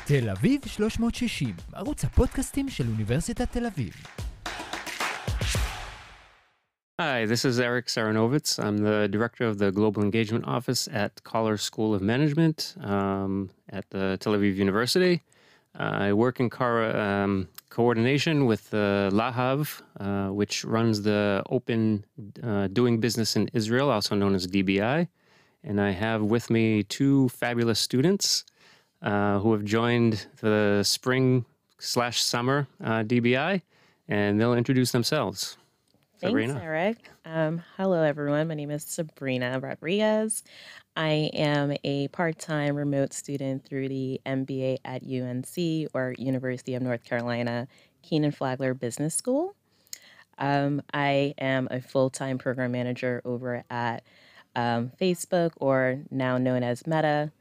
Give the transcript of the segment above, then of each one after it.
תל אביב 360, ערוץ הפודקאסטים של אוניברסיטת תל אביב. Hi, this is Eric Saranovitz. I'm the director of the Global Engagement Office at Collar School of Management at the Tel Aviv University. I work in coordination with Lahav, which runs the Open Doing Business in Israel, also known as DBI. And I have with me two fabulous students who have joined the spring/summer DBI, and they'll introduce themselves. Thanks, Sabrina. Eric. Hello, everyone. My name is Sabrina Rodriguez. I am a part-time remote student through the MBA at UNC, or University of North Carolina, Keenan Flagler Business School. I am a full-time program manager over at Facebook, or now known as Meta.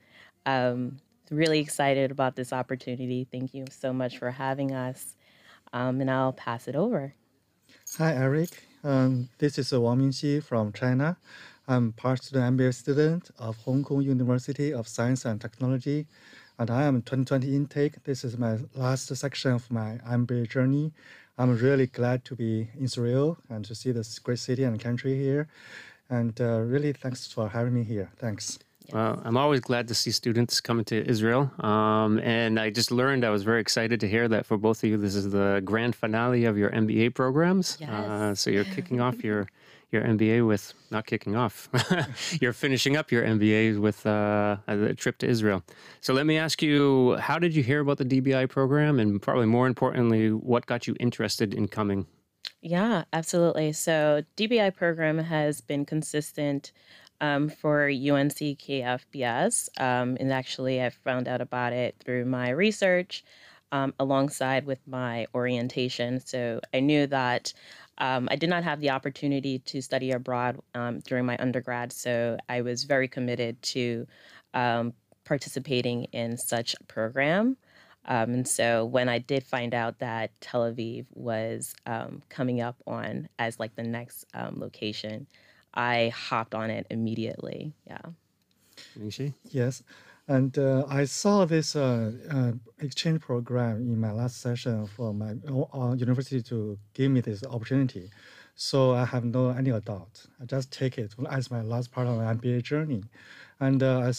Really excited about this opportunity. Thank you so much for having us. And I'll pass it over. Hi, Eric. This is Wang Mingxi from China. I'm part-student MBA student of Hong Kong University of Science and Technology, and I am 2020 intake. This is my last section of my MBA journey. I'm really glad to be in Israel and to see this great city and country here. And really, thanks for having me here. Thanks. Well, I'm always glad to see students coming to Israel. And I just learned, I was very excited to hear that for both of you, this is the grand finale of your MBA programs. Yes. So you're kicking off your MBA with, not kicking off, you're finishing up your MBA with a trip to Israel. So let me ask you, how did you hear about the DBI program? And probably more importantly, what got you interested in coming? Yeah, absolutely. So DBI program has been consistent for UNC KFBS. And actually, I found out about it through my research alongside with my orientation. So I knew that I did not have the opportunity to study abroad during my undergrad. So I was very committed to participating in such a program. And so when I did find out that Tel Aviv was coming up on as like the next location, I hopped on it immediately. Yeah. Mingxi? Yes. And I saw this exchange program in my last session for my university to give me this opportunity. So I have any doubt. I just take it as my last part of my MBA journey. And I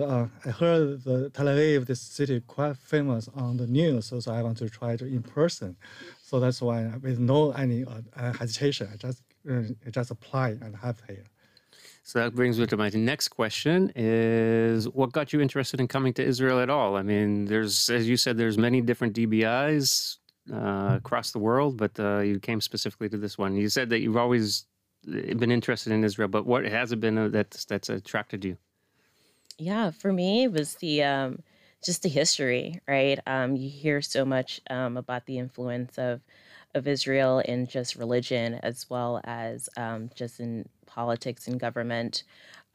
heard the Tel Aviv, this city, quite famous on the news. So I want to try it in person. So that's why, with any hesitation, I just apply and have here. So that brings me to my next question is, what got you interested in coming to Israel at all? I mean, as you said, there's many different DBIs across the world, but you came specifically to this one. You said that you've always been interested in Israel, but what has it been that's attracted you? Yeah, for me, it was the just the history, right? You hear so much about the influence of Israel in just religion as well as just in politics and government.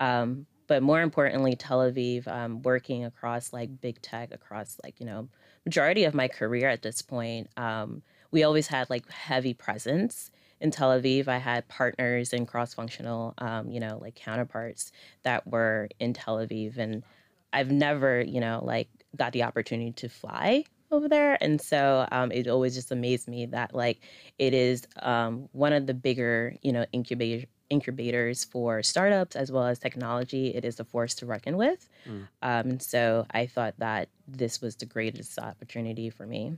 But more importantly, Tel Aviv, working across like big tech, across like, majority of my career at this point, we always had like heavy presence in Tel Aviv. I had partners and cross-functional, like counterparts that were in Tel Aviv. And I've never, like got the opportunity to fly over there. And so it always just amazed me that like it is one of the bigger, incubators for startups as well as technology. It is a force to reckon with. And so I thought that this was the greatest opportunity for me.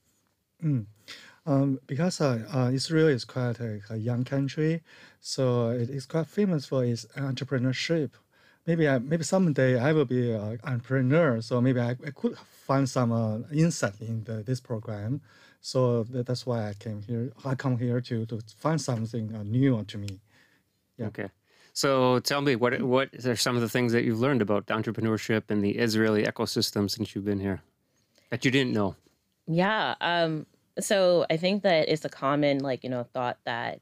Because Israel is quite a young country, so it is quite famous for its entrepreneurship. Maybe someday I will be an entrepreneur, so maybe I could find some insight in this program. So that's why I came here. I come here to find something new to me. Yeah. Okay. So tell me, what are some of the things that you've learned about entrepreneurship and the Israeli ecosystem since you've been here that you didn't know? Yeah. So I think that it's a common, thought that,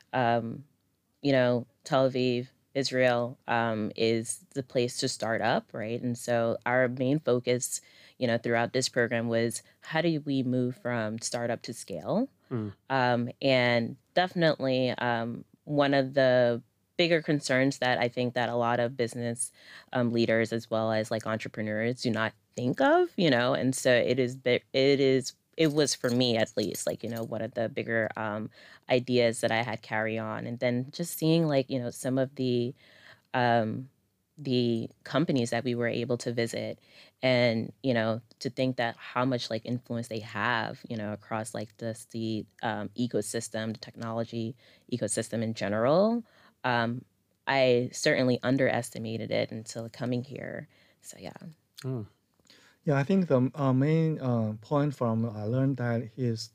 Tel Aviv, Israel, is the place to start up, right? And so our main focus, throughout this program was how do we move from startup to scale? And definitely one of the bigger concerns that I think that a lot of business leaders as well as like entrepreneurs do not think of, and so it was for me at least, like, one of the bigger ideas that I had carry on. And then just seeing like, some of um, the companies that we were able to visit, and to think that how much like influence they have, across like the ecosystem, the technology ecosystem in general. Um, i certainly underestimated it until coming here, so yeah. Oh, Yeah, I think the main point from I learned that is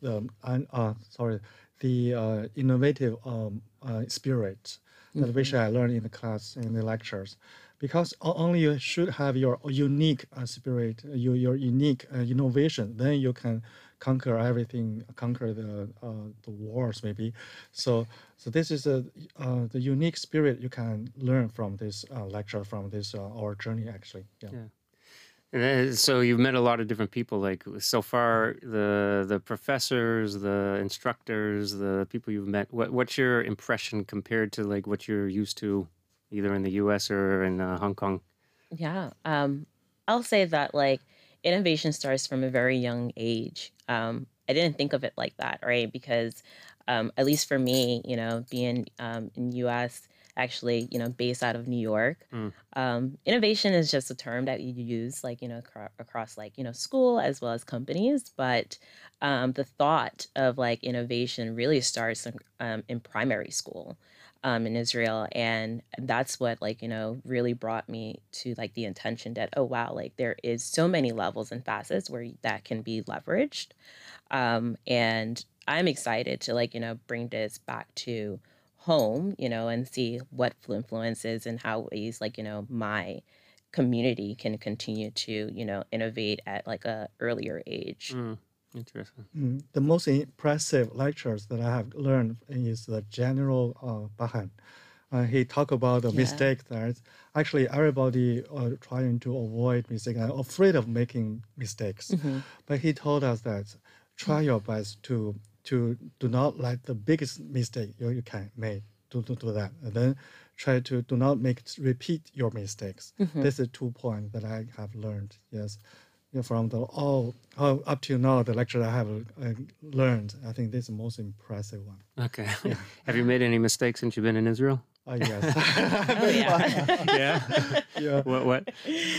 the innovative spirit that which Hmm. I learned in the class in the lectures, because only you should have your unique spirit, your unique innovation, then you can conquer everything, conquer the wars maybe. So this is the unique spirit you can learn from this lecture, from this our journey actually. Yeah. yeah. And so you've met a lot of different people. Like so far, the professors, the instructors, the people you've met. What's your impression compared to like what you're used to, either in the U.S. or in Hong Kong? Yeah. I'll say that like innovation starts from a very young age. I didn't think of it like that, right? Because at least for me, being in US, actually, based out of New York, Mm, innovation is just a term that you use like, across like, school as well as companies. But the thought of like innovation really starts in primary school in Israel. And that's what like, really brought me to like the intention that, oh wow, like there is so many levels and facets where that can be leveraged. And I'm excited to like, bring this back to home, and see what influences and how ways like, my community can continue to, innovate at like a earlier age. mm, interesting. The most impressive lectures that I have learned is the General Bahan. He talked about the Yeah. mistake that actually everybody trying to avoid mistake and afraid of making mistakes. Hmm. But he told us that try your best to do not let the biggest mistake you can make to do that. And then try to do not repeat your mistakes. Hmm. This is 2 points that I have learned. Yes. Yeah, from the all up till now, the lecture I have learned, I think this is the most impressive one. Okay. Have you made any mistakes since you've been in Israel? Yes. Oh yeah. Yeah. Yeah. What?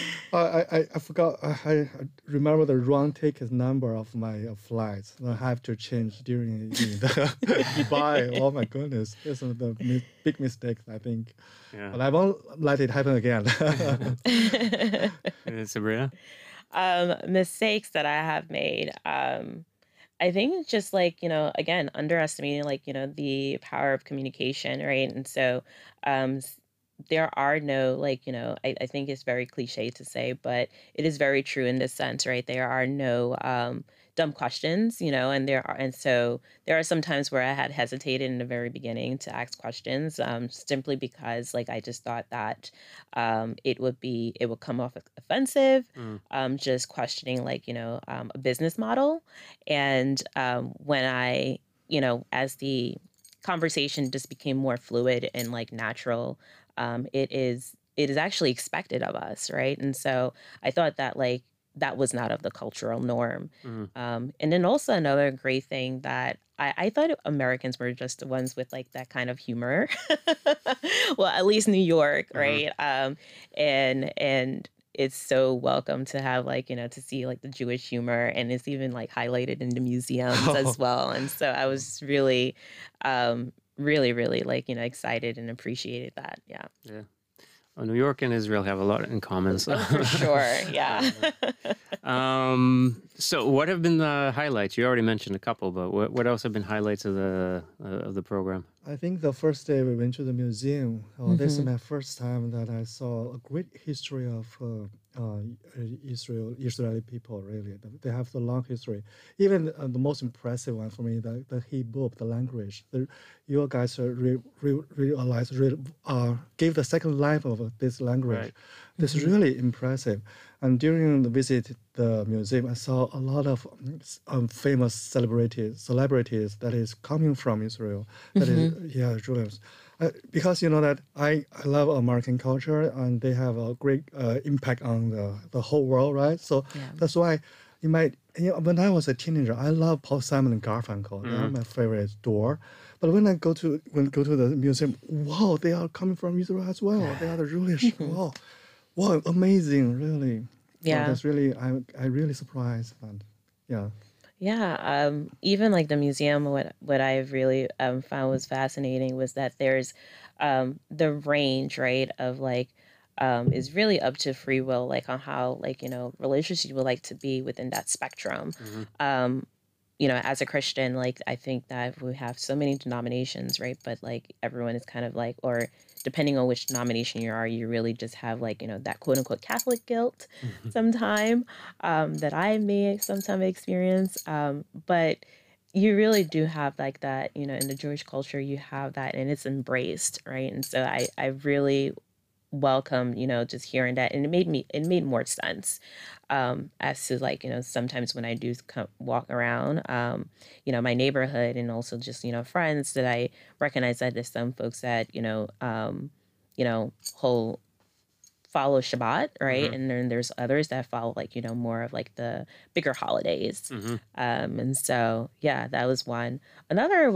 I forgot. I remember the wrong ticket number of my flights. I have to change during the Dubai. Oh my goodness, this is the big mistake, I think. Yeah. But I won't let it happen again. Sabrina? Mistakes that I have made. I think it's just like, again, underestimating like, the power of communication, right? And so there are no like, I think it's very cliche to say, but it is very true in this sense, right? There are no dumb questions, and so there are some times where I had hesitated in the very beginning to ask questions, simply because like I just thought that it would come off offensive, Mm, just questioning like, a business model. And when as the conversation just became more fluid and like natural, it is actually expected of us, right? And so I thought that like that was not of the cultural norm. mm, And then also another great thing that I thought Americans were just the ones with like that kind of humor. Well, at least New York, uh-huh. right? And it's so welcome to have like, to see like the Jewish humor, and it's even like highlighted in the museums as well. And so I was really, really, really like, excited and appreciated that. Yeah. Yeah. Well, New York and Israel have a lot in common. So. Oh, for sure. Yeah. So what have been the highlights? You already mentioned a couple, but what else have been highlights of the program? I think the first day we went to the museum. This is Hmm. my first time that I saw a great history of Israeli people. Really, they have the long history. Even the most impressive one for me, the Hebrew, the language. You guys realize, gave the second life of this language. Right. This is really impressive. And during the visit the museum, I saw a lot of famous celebrities that is coming from Israel. That is, yeah, Julius. because you know that I love American culture and they have a great impact on the whole world, right? So Yeah. that's why when I was a teenager, I love Paul Simon and Garfunkel. They are my favorite duo. But when I go to the museum, wow, they are coming from Israel as well. They are the Jewish. Wow, wow, amazing, really. Wow, Yeah. that's really I really surprised. And yeah, Yeah, even like the museum, what I really found was fascinating was that there's the range, right, of like is really up to free will, like on how like religious you would like to be within that spectrum. Mm-hmm. As a Christian, like I think that we have so many denominations, right? But like everyone is kind of like, or depending on which denomination you are, you really just have like, that quote unquote Catholic guilt sometime that I may sometime experience. But you really do have like that, in the Jewish culture, you have that and it's embraced, right? And so I really welcome, just hearing that. And it made more sense as to like, sometimes when I do walk around, my neighborhood and also just, friends that I recognize that there's some folks that, whole follow Shabbat, right? And then there's others that follow like, more of like the bigger holidays. Mm-hmm. And so, yeah, that was one. Another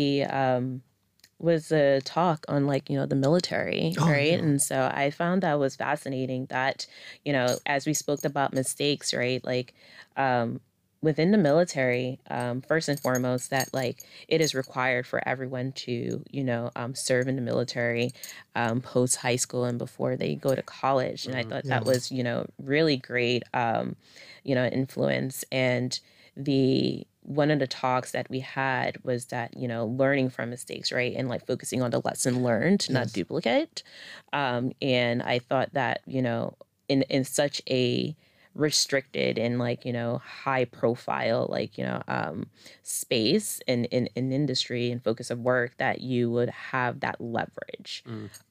was a talk on like the military, Oh, right? yeah. And so I found that was fascinating that as we spoke about mistakes, right, like within the military, first and foremost, that like it is required for everyone to serve in the military post high school and before they go to college. And I thought that Yeah. was really great influence. And the one of the talks that we had was that learning from mistakes, right, and like focusing on the lesson learned, not Yes. duplicate. And I thought that in such a restricted and like high profile like space in industry and focus of work, that you would have that leverage.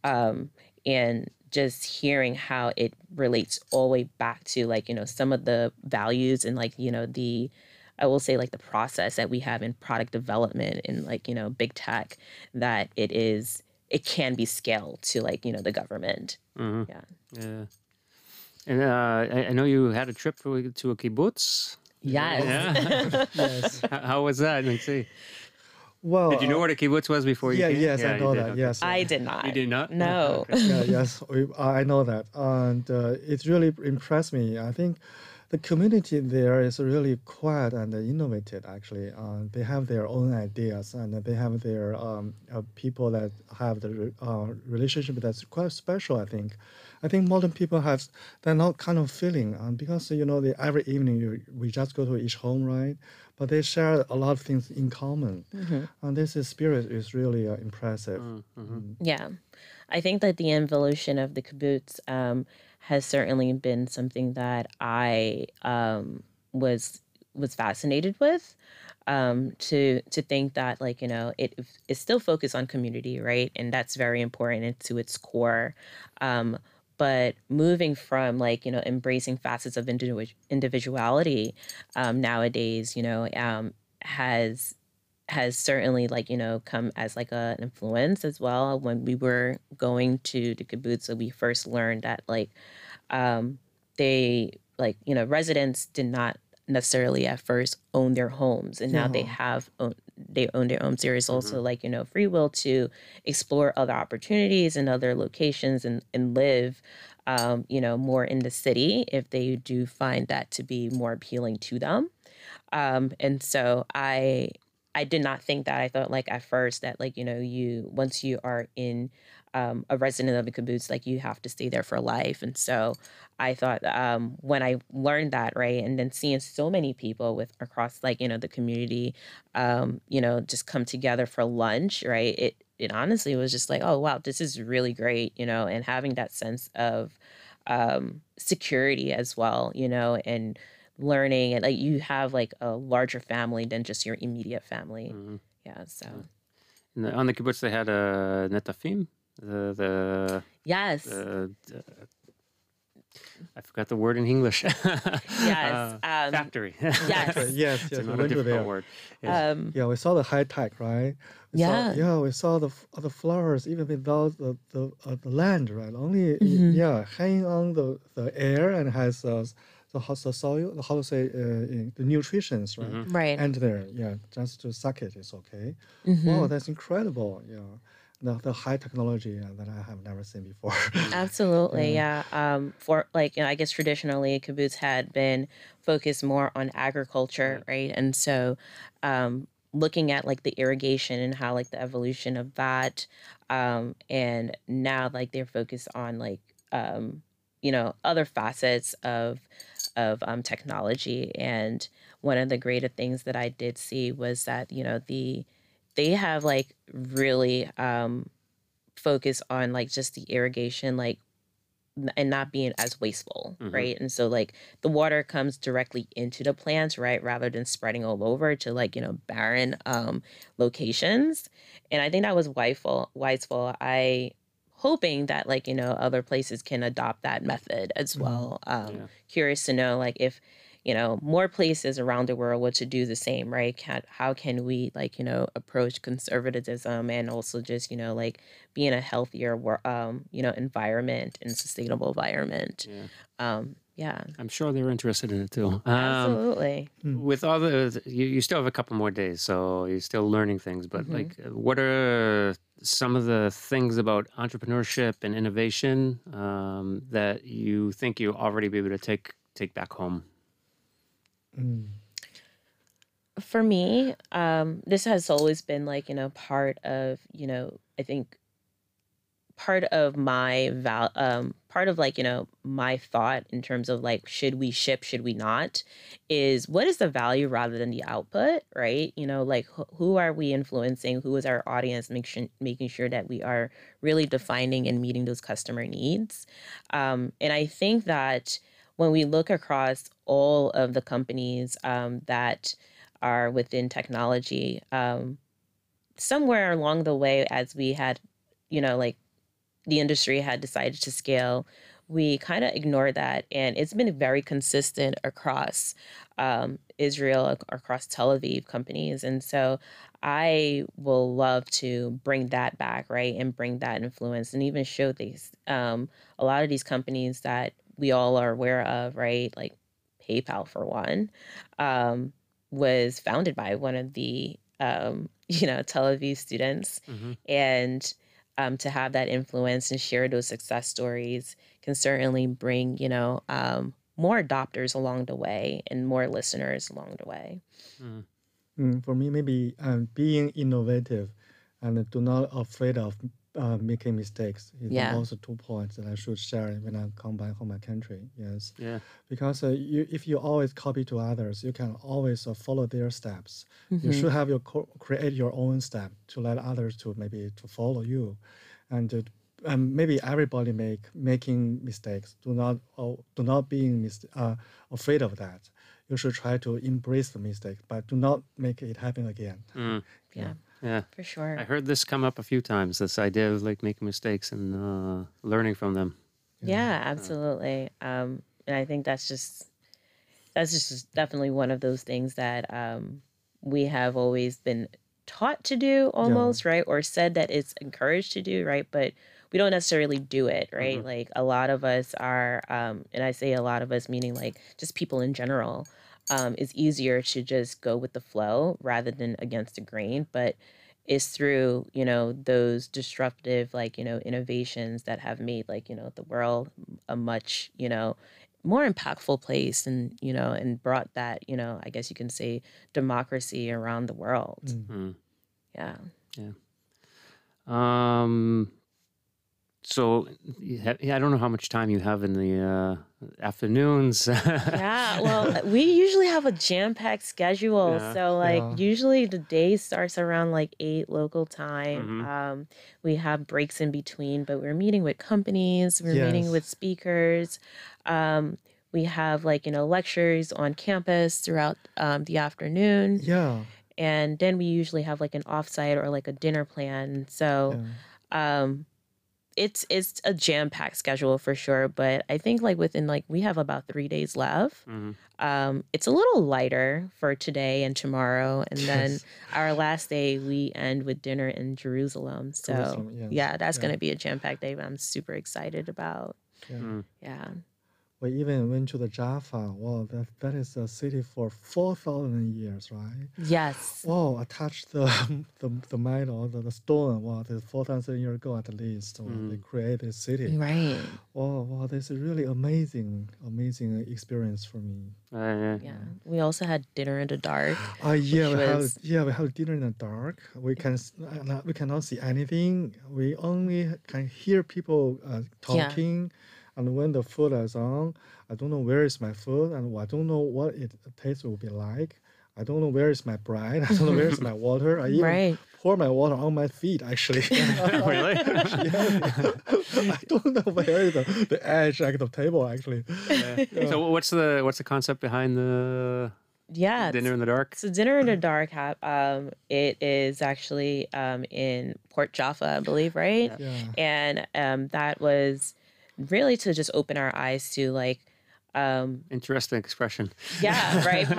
And just hearing how it relates all the way back to like some of the values and like the, I will say, like the process that we have in product development and like big tech, that it can be scaled to like the government. Mm-hmm. Yeah. Yeah. And I know you had a trip to a kibbutz. Yes. Yeah. Yes. How was that? Let's see. Well, Did you know what a kibbutz was before you yeah, came? yes, I you know did, that. okay. Yes, I did not. You did not? No. Okay. yeah, yes, I know that, and it really impressed me. I think the community there is really quiet and innovative. Actually, they have their own ideas and they have their people that have the relationship that's quite special. I think modern people have they're not kind of feeling because every evening we just go to each home, right? But they share a lot of things in common, and this spirit is really impressive. Yeah. I think that the evolution of the kibbutz has certainly been something that I was fascinated with. To think that like it is still focused on community, right, and that's very important and to its core. But moving from like embracing facets of individuality nowadays, has certainly like come as like an influence as well. When we were going to the kibbutz, so we first learned that like they like residents did not necessarily at first own their homes, and now they own their homes. There is also like free will to explore other opportunities and other locations and live more in the city if they do find that to be more appealing to them. And so I did not think that. I thought like at first that like you once you are in a resident of a kibbutz, like you have to stay there for life. And so I thought when I learned that, right, and then seeing so many people with across like the community, just come together for lunch, right, it honestly was just like, oh wow, this is really great, and having that sense of security as well, and learning, and like you have like a larger family than just your immediate family. Yeah. So And on the kibbutz, they had a netafim. yes. I forgot the word in English. Yes. Factory. Yes. Yes, It's yes, we another went to difficult there. word. Yeah. Yeah, we saw the high tech, right? Yeah. We saw the flowers even without the land, right? Only Mhm. hanging on the air and has the soil, how to say the nutritions, right? Mhm. Right. And there, yeah, just to suck it is okay. Wow, Mhm. that's incredible. Yeah, the high technology that I have never seen before. Absolutely, Yeah. yeah. For like, I guess traditionally kibbutz had been focused more on agriculture, Right. right? And so, looking at like the irrigation and how like the evolution of that, and now like they're focused on like, other facets of technology. And one of the greater things that I did see was that they have like really focus on like just the irrigation, like and not being as wasteful, Mhm. right? And so like the water comes directly into the plants, right, rather than spreading all over to like barren locations. And I think that was wiseful. I hoping that like other places can adopt that method as Mm. well. Yeah. Curious to know like if more places around the world were to do the same, right? How can we like approach conservatism and also just like be in a healthier environment and sustainable environment. Yeah. Yeah, I'm sure they're interested in it too. absolutely. Mm. With all you still have a couple more days, so you're still learning things. But Hmm. like, what are some of the things about entrepreneurship and innovation that you think you'll already be able to take back home? Mm. For me, this has always been like part of I think part of part of like my thought in terms of like should we ship, should we not, is what is the value rather than the output, right? Like who are we influencing, who is our audience, making sure that we are really defining and meeting those customer needs. And I think that when we look across all of the companies that are within technology, somewhere along the way, as we had like the industry had decided to scale, we kind of ignored that. And it's been very consistent across Israel, across Tel Aviv companies. And so I will love to bring that back, right? And bring that influence and even show these, a lot of these companies that we all are aware of, right? Like PayPal, for one, um, was founded by one of the, Tel Aviv students. Hmm. And to have that influence and share those success stories can certainly bring, more adopters along the way and more listeners along the way. For me, maybe being innovative and do not afraid of making mistakes is Yeah. also 2 points that I should share when I come back home my country. Yes, Yeah. because if you always copy to others, you can always follow their steps. You Hmm. should have create your own step to let others to maybe to follow you, and maybe everybody making mistakes. Do not being afraid of that. You should try to embrace the mistake, but do not make it happen again. Mm. Yeah, Yeah. for sure. I heard this come up a few times. This idea of like making mistakes and learning from them. Yeah, absolutely. And I think that's just definitely one of those things that we have always been taught to do Yeah. almost, right? Or said that it's encouraged to do, right? But we don't necessarily do it, right? Mhm. Like a lot of us are, and I say a lot of us, meaning like just people in general, it's easier to just go with the flow rather than against the grain. But it's through, those disruptive, like, innovations that have made like, the world a much, more impactful place and and brought that I guess you can say democracy around the world. Mm. Mm. Yeah. Yeah. So yeah, I don't know how much time you have in the afternoons. Yeah, well, we usually have a jam-packed schedule. Yeah. So like Yeah. usually the day starts around like 8 local time. Mhm. We have breaks in between, but we're meeting with companies, we're meeting Yes. with speakers. We have like, lectures on campus throughout the afternoon. Yeah. And then we usually have like an offsite or like a dinner plan. So Yeah. um it's a jam-packed schedule for sure, but I think like within like we have about 3 days left. Hmm. It's a little lighter for today and tomorrow, and then Yes. our last day we end with dinner in Jerusalem. So Jerusalem, yes. yeah, that's Yeah. gonna be a jam-packed day, but I'm super excited about. Yeah. Mm. Yeah. We even went to the Jaffa. Wow, that is a city for 4,000 years, right? Yes. Wow, I touched the metal, the stone. Wow, that's 4,000 years ago at least. Wow, they created this city. Right. Wow, this is really amazing experience for me. Yeah. Yeah. We also had dinner in the dark. Yeah, Which we have dinner in the dark. We cannot see anything. We only can hear people talking. And when the food is on, I don't know where is my food, and I don't know what it taste will be like. I don't know where is my bread. I don't know where is my water. I even Right. pour my water on my feet, actually. Really? I don't know where is the edge of the table, actually. So what's the concept behind the Yeah. dinner in the dark? So dinner in the dark, it is actually in Port Jaffa, I believe, right? Yeah. And that was really to just open our eyes to like, Interesting expression. yeah, right.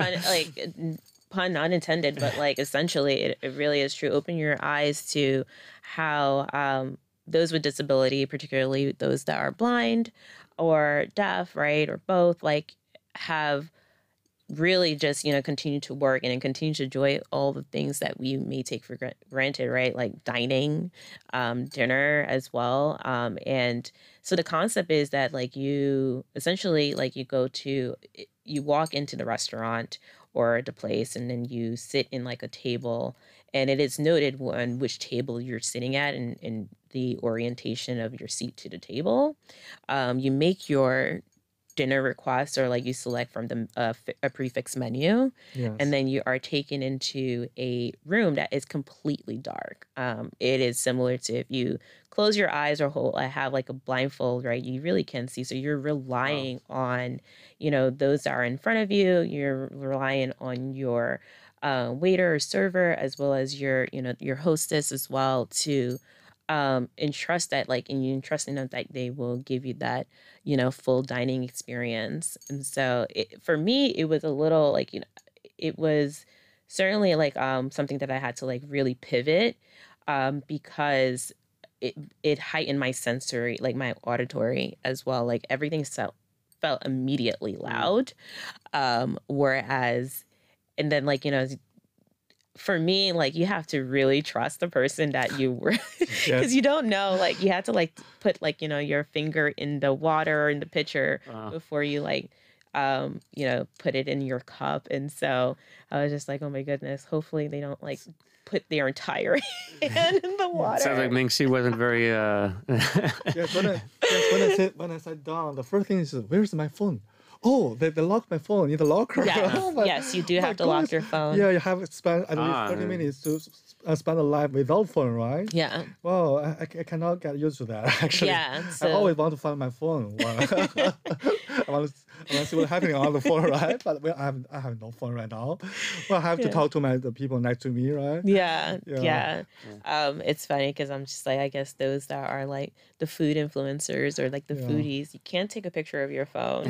Pun unintended, but like essentially, it really is true. Open your eyes to how those with disability, particularly those that are blind or deaf, right, or both, like have really just continue to work and continue to enjoy all the things that we may take for granted, right, like dining, dinner as well, and so the concept is that like you essentially like you walk into the restaurant or the place, and then you sit in like a table, and it is noted on which table you're sitting at and the orientation of your seat to the table. You make your dinner requests, or like you select from a prefix menu, Yes. and then you are taken into a room that is completely dark. It is similar to if you close your eyes or have like a blindfold, right? You really can see. So you're relying on, those that are in front of you. You're relying on your waiter or server, as well as your hostess as well, to entrust that like and you entrusting them that they will give you that full dining experience. And so for me it was a little like it was certainly like something that I had to like really pivot because it heightened my sensory, like my auditory as well, like everything felt immediately loud, whereas and then like for me, like you have to really trust the person that you were, because you don't know, like you have to like put like your finger in the water or in the pitcher before you like put it in your cup. And so I was just like, oh my goodness, hopefully they don't like put their entire hand in the water. Sounds like Ming-Si wasn't very Yes, when I sat down, the first thing is, where's my phone? Oh, they locked my phone in the locker. Yeah. Yes, you do have to lock your phone. Yeah, you have to spend at least 30 minutes to spend a life without phone, right? Yeah. Well, I cannot get used to that, actually. Yeah. I always want to find my phone. I want to see what's happening on the phone, right? But I have no phone right now. Well, I have to talk to the people next to me, right? Yeah. It's funny because I'm just like, I guess those that are like the food influencers or like the foodies, you can't take a picture of your phone.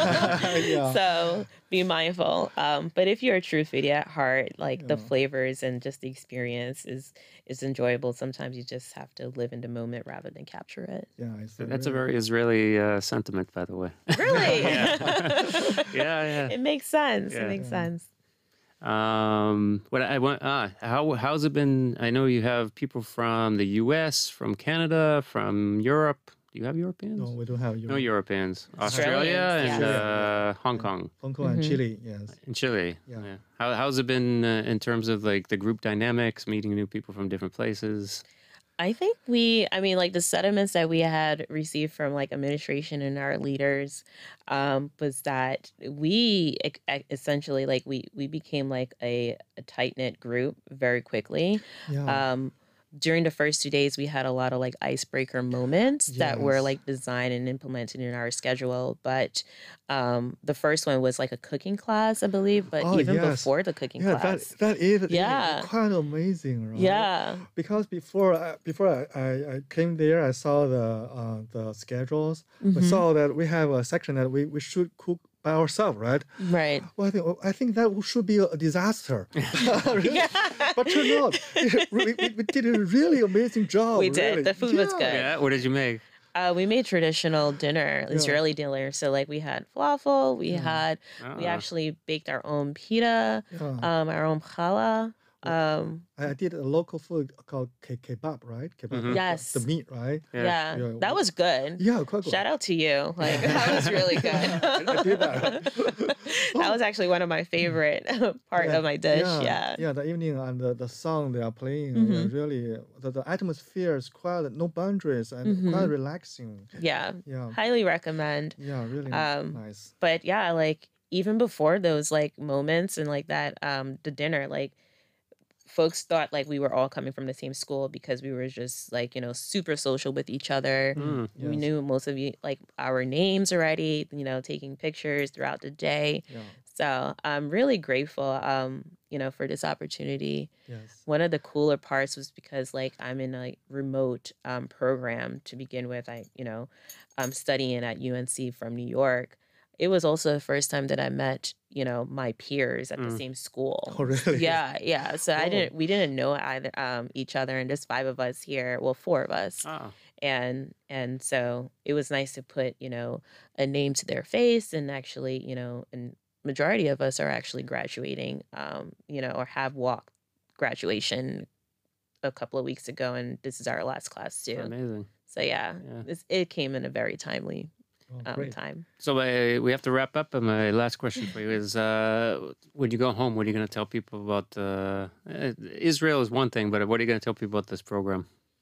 So be mindful. But if you're a true foodie at heart, like the flavors and just the experience is enjoyable. Sometimes you just have to live in the moment rather than capture it. Yeah, That's a very Israeli sentiment, by the way. Really? Yeah. It makes sense. Yeah. It makes sense. What I want, how's it been? I know you have people from the U.S., from Canada, from Europe. Do you have Europeans? No, we don't have No Europeans. Australia Australians, and Hong Kong. Hong Kong and Chile, yes. In Chile. Yeah. How's it been in terms of like the group dynamics, meeting new people from different places? I think like the sentiments that we had received from like administration and our leaders was that we essentially like we became like a tight-knit group very quickly. Yeah. during the first 2 days, we had a lot of like icebreaker moments that were Yes. like designed and implemented in our schedule. But the first one was like a cooking class, I believe. But Oh, even yes. before the cooking Yeah, class, that is Yeah. quite amazing, right? yeah, Because before I came there, I saw the schedules. We Mhm. saw that we have a section that we should cook by ourselves, right? right. Well, I think that should be a disaster. Really. Yeah. But turned out we did a really amazing job. We did. really. The food was Yeah. good. Yeah. What did you make? We made traditional dinner, Yeah. Israeli dinner. So like we had falafel, we Ah. actually baked our own pita, Yeah. our own challah. I did a local food called kebab, right? Kebab, Mhm. Yes. the meat, right? Yeah. Yeah, Yeah. that was good. Yeah, quite good. Shout out to you. Like that was really good. I did that. That was actually one of my favorite part of my dish. Yeah. Yeah, the evening and the song they are playing, Mhm. really, the atmosphere is quite no boundaries and quite relaxing. Yeah. Yeah, Highly recommend. yeah, really nice. But yeah, like even before those like moments and like that, the dinner, like folks thought like we were all coming from the same school because we were just like, super social with each other. Mm. We Yes. knew most of you like our names already, taking pictures throughout the day. Yeah, So I'm really grateful, for this opportunity. yes. One of the cooler parts was because like I'm in a remote program to begin with. I'm studying at UNC from New York. It was also the first time that I met, my peers at the Mm. same school. Oh, really? Yeah, yeah. So Oh. we didn't know either each other, and there's 5 of us here. Well, 4 of us, Ah. and so it was nice to put a name to their face, and actually and majority of us are actually graduating, or have walked graduation a couple of weeks ago, and this is our last class too. Amazing. So yeah, Yeah. it came in a very timely Oh, great. time. So we have to wrap up. And my last question for you is: when you go home, what are you going to tell people about Israel? Is one thing, but what are you going to tell people about this program?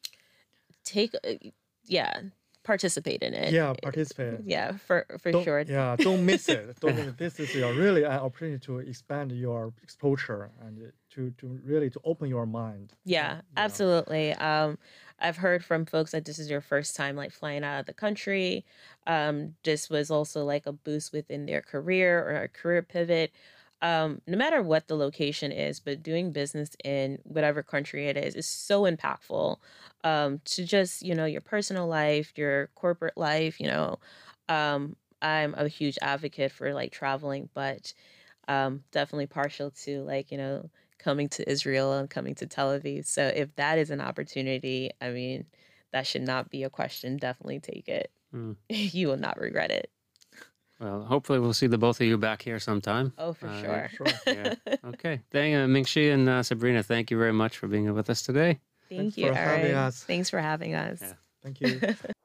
Participate in it. Yeah, participate. Yeah, for Don't, sure. Yeah, don't miss it. Don't miss it. This is really an opportunity to expand your exposure and to really to open your mind. Yeah, absolutely. I've heard from folks that this is your first time like flying out of the country. This was also like a boost within their career or a career pivot. No matter what the location is, but doing business in whatever country it is so impactful to just, your personal life, your corporate life, I'm a huge advocate for like traveling, but definitely partial to like, coming to Israel and coming to Tel Aviv. So if that is an opportunity, I mean, that should not be a question. Definitely take it. Mm. You will not regret it. Well, hopefully we'll see the both of you back here sometime. Oh, for sure. Sure. Yeah. Okay. Ming-Chi and Sabrina, thank you very much for being with us today. Thank Thanks you, for having Eric. us. Thanks for having us. Yeah. Thank you.